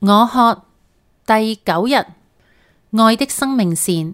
我渴第9日，愛的生命線。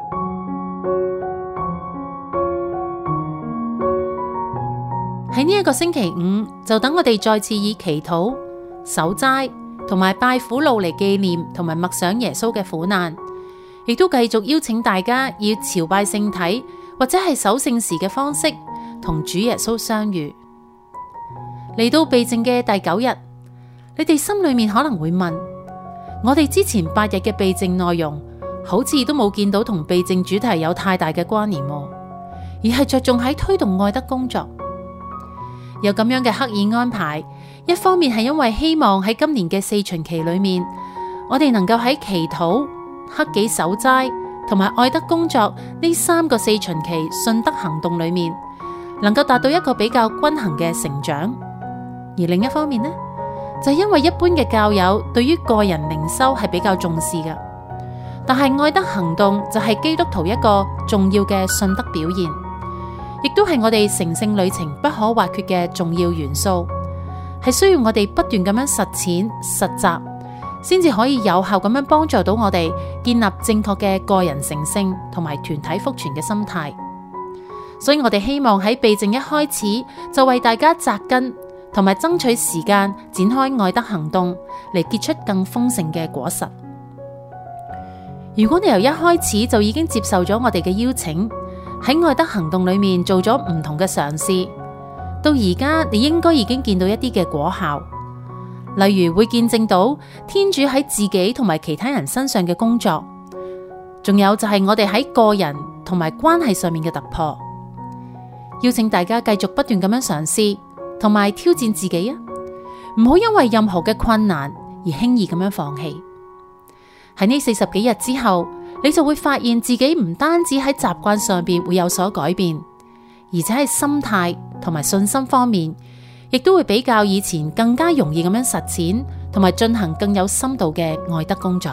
喺呢一個星期五，就等我哋再次以祈禱、守齋同埋拜苦路嚟紀念同埋默想耶穌嘅苦難，亦都繼續邀請大家以朝拜聖體或者係守聖時嘅方式同主耶穌相遇。嚟到避靜嘅第9日，你哋心裏面可能會問：我哋之前8日嘅避靜內容，好似都冇見到同避靜主題有太大嘅關聯，而係着重喺推動愛德工作。有咁樣嘅刻意安排，一方面係因為希望喺今年嘅4旬期裏面，我哋能夠喺祈禱、克己守齋同埋愛德工作呢3個4旬期信德行動裏面，能夠達到一個比較均衡嘅成長。而另一方面呢，就係因為一般嘅教友對於個人靈修係比較重視嘅，但係愛德行動就係基督徒一個重要嘅信德表現，亦都係我哋成聖旅程不可或缺嘅重要元素，係需要我哋不斷咁樣實踐實習，先至可以有效咁樣幫助到我哋建立正確嘅個人成聖同埋團體福傳嘅心態。所以我哋希望喺避靜一開始就為大家扎根，同埋爭取時間展開愛德行動嚟結出更豐盛嘅果實。如果你由一開始就已經接受咗我哋嘅邀請，喺愛德行動裏面做咗唔同嘅嘗試，到而家你應該已經見到一啲嘅果效，例如會見證到天主喺自己同埋其他人身上嘅工作，仲有就係我哋喺個人同埋關係上面嘅突破。邀請大家繼續不斷咁樣嘗試同埋挑戰自己啊！唔好因為任何嘅困難而輕易咁樣放棄。喺呢40幾日之後，你就會發現自己唔單止喺習慣上邊會有所改變，而且喺心態同埋信心方面，亦都會比較以前更加容易咁樣實踐，同埋進行更有深度嘅愛德工作。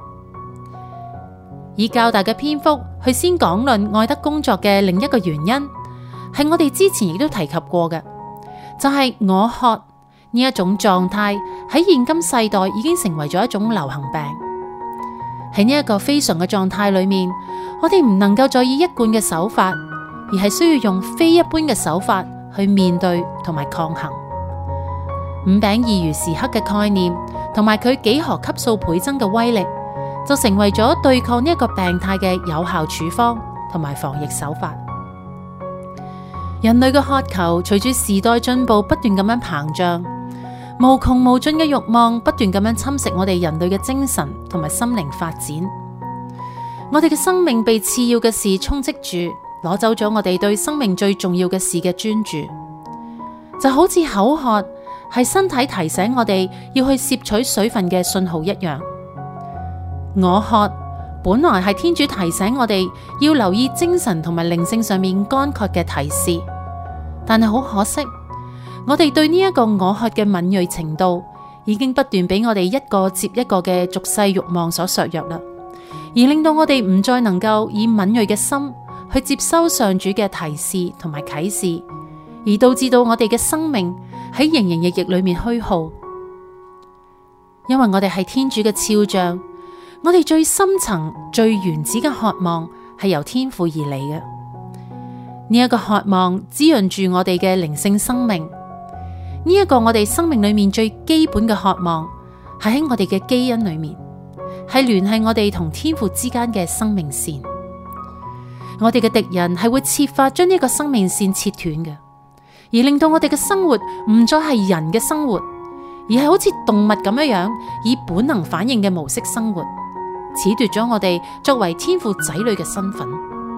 以較大嘅篇幅去先講論愛德工作嘅另一個原因，係我哋之前亦都提及過嘅。就係我渴呢一種狀態喺現今世代已經成為咗一種流行病。喺呢一個非常嘅狀態裏面，我哋唔能夠再以一貫嘅手法，而係需要用非一般嘅手法去面對同埋抗衡。5餅2魚時刻嘅概念同埋佢幾何級數倍增嘅威力，就成為咗對抗呢一個病態嘅有效處方同埋防疫手法。人類嘅渴求隨住時代進步不斷咁樣膨脹，無窮無盡嘅慾望不斷咁樣侵蝕我哋人類嘅精神同埋心靈發展。我哋嘅生命被次要嘅事充斥住，攞走咗我哋對生命最重要嘅事嘅專注。就好似口渴係身體提醒我哋要去攝取水分嘅信號一樣。我渴本來係天主提醒我哋要留意精神同埋靈性上面乾涸嘅提示。但係好可惜，我哋對呢一個我渴嘅敏銳程度，已經不斷俾我哋一個接一個嘅俗世慾望所削弱啦，而令到我哋唔再能夠以敏銳嘅心去接收上主嘅提示同埋啟示，而導致到我哋嘅生命喺營營役役裏面虛耗。因為我哋係天主嘅肖像，我哋最深層、最原始嘅渴望係由天父而嚟嘅。呢一個渴望滋潤住我哋嘅靈性生命，呢一個我哋生命裏面最基本嘅渴望，係喺我哋嘅基因裏面，係聯繫我哋同天父之間嘅生命線。我哋嘅敵人係會設法將呢個生命線切斷嘅，而令到我哋嘅生活唔再係人嘅生活，而係好似動物咁樣以本能反應嘅模式生活，褫奪咗我哋作為天父仔女嘅身份。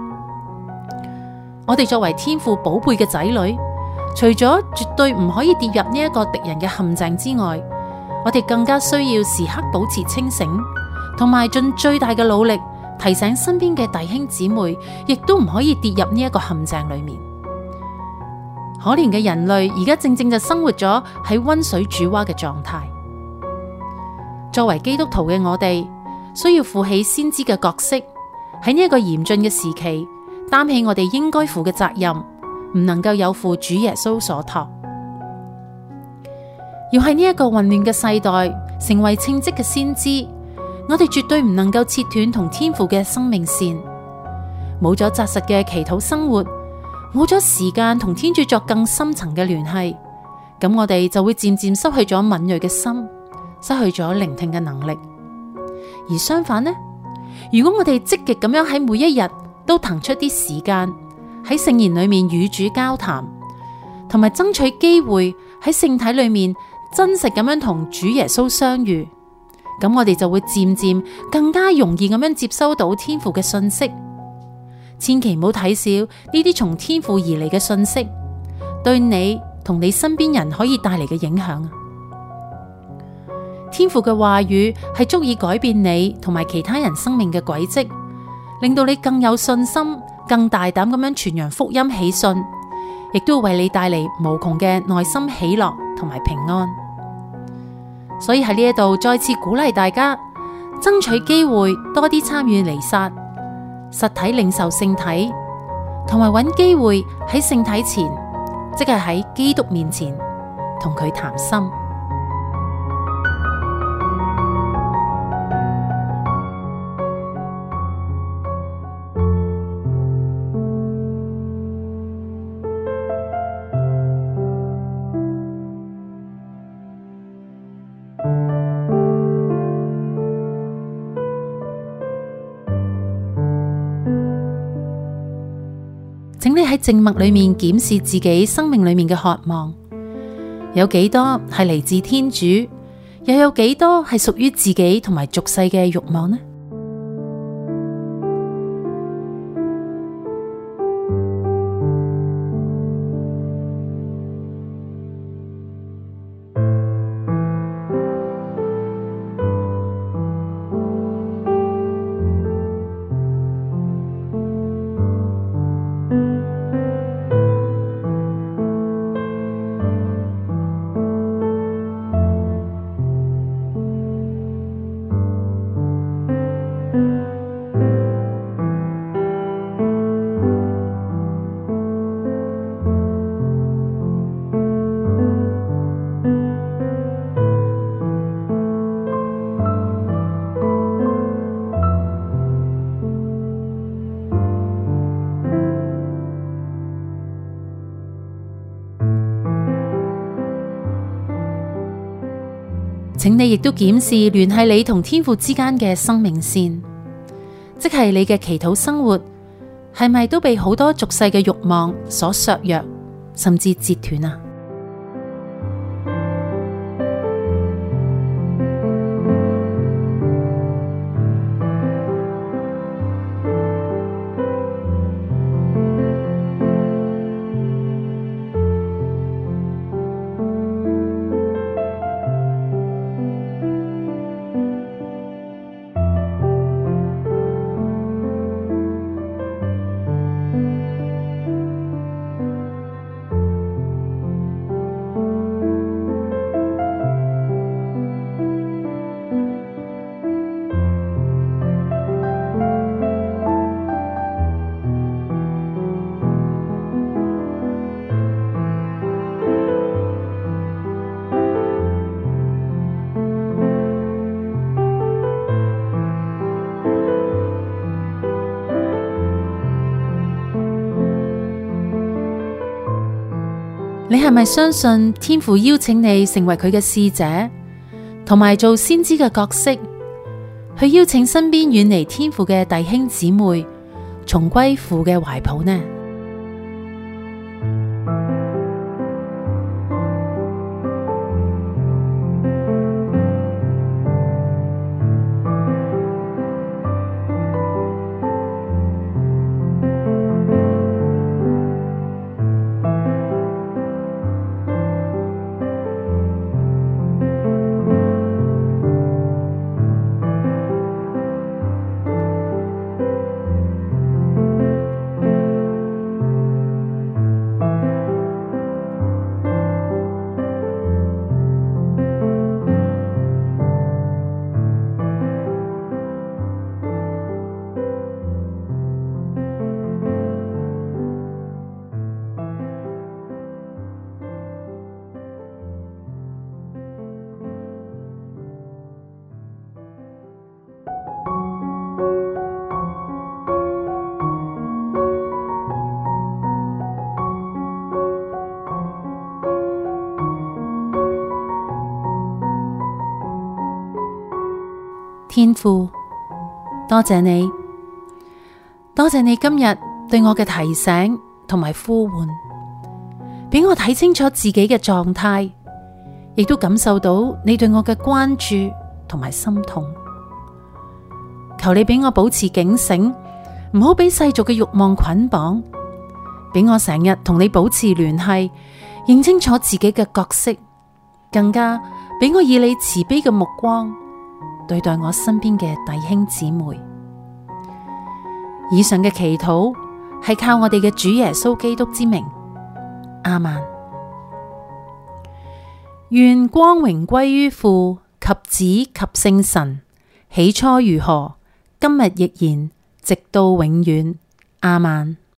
我哋作為天父寶貝嘅仔女，除咗絕對唔可以跌入呢一個敵人嘅陷阱之外，我哋更加需要時刻保持清醒，同埋盡最大嘅努力提醒身邊嘅弟兄姊妹，亦都唔可以跌入呢一個陷阱裏面。可憐嘅人類而家正正就生活咗喺溫水煮蛙嘅狀態。作為基督徒嘅我哋，需要負起先知嘅角色，喺呢一個嚴峻嘅時期，擔起我哋應該負嘅責任，唔能夠有負主耶穌所託。 要喺呢一個混亂嘅世代成為稱職嘅先知，我哋絕對唔能夠切斷同天父嘅生命線。冇咗紮實嘅祈禱生活，冇咗時間同天主作更深層嘅聯繫，咁我哋就會漸漸失去咗敏銳嘅心，失去咗聆聽嘅能力。而相反呢，如果我哋積極咁樣喺每一日都騰出啲時間喺聖言裏面與主交談，同埋爭取機會喺聖體裏面真實咁樣同主耶穌相遇，咁我哋就會漸漸更加容易咁樣接收到天父嘅訊息。千祈唔好睇小呢啲從天父而嚟嘅訊息，對你同你身邊人可以帶嚟嘅影響。天父嘅話語係足以改變你同埋其他人生命嘅軌跡，令到你更有信心、更大膽咁樣傳揚福音喜訊，亦都為你帶嚟無窮嘅內心喜樂同埋平安。所以喺呢一度再次鼓勵大家，爭取機會多啲參與彌撒、實體領受聖體，同埋揾機會喺聖體前，即係喺基督面前同佢談心。請你喺靜默裏面檢視自己生命裏面嘅渴望，有幾多係嚟自天主，又有幾多係屬於自己同埋俗世嘅慾望呢？請你亦都檢視聯繫你同天父之間嘅生命線，即係你嘅祈禱生活係咪都被好多俗世嘅慾望所削弱，甚至截斷啊？你係咪相信天父邀請你成為佢嘅使者，同埋做先知嘅角色，去邀請身邊遠離天父嘅弟兄姊妹重歸父嘅懷抱呢？ 天父，多謝你，多謝你今日對我嘅提醒同埋呼喚，俾我睇清楚自己嘅狀態，亦都感受到你對我嘅關注同埋心痛。求你俾我保持警醒，唔好俾世俗嘅慾望捆綁，俾我成日同你保持聯繫，認清楚自己嘅角色，更加俾我以你慈悲嘅目光對待我身邊嘅弟兄姊妹。以上嘅祈禱係靠我哋嘅主耶穌基督之名，阿們。願光榮歸於父及子及聖神，起初如何，今日亦然，直到永遠，阿們。